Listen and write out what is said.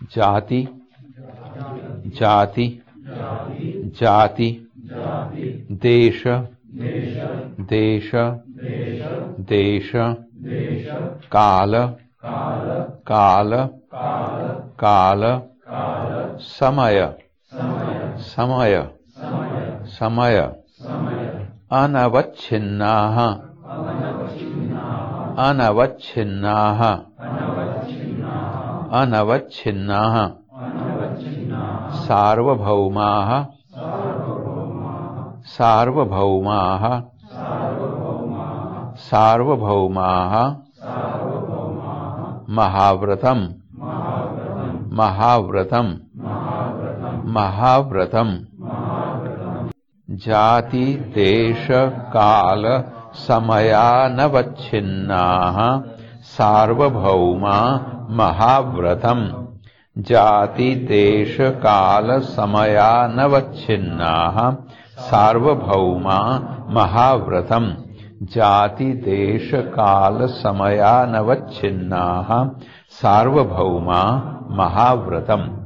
जाति जाति जाति देश देश देश काल काल काल समय समय समय अनवच्छिन्नाः अनवच्छिन्नाः अनवच्छिन्नाः सार्वभौमाः सार्वभौमाः सार्वभौमाः महाव्रतम् महाव्रतम् महाव्रतम् जाति देश काल समयानवच्छिन्नाः सार्वभौमा महाव्रतम् जाति देश काल समयानवच्छिन्नाः सार्वभौमा महाव्रतम् जाति देश काल समयानवच्छिन्नाः सार्वभौमा महाव्रतम्।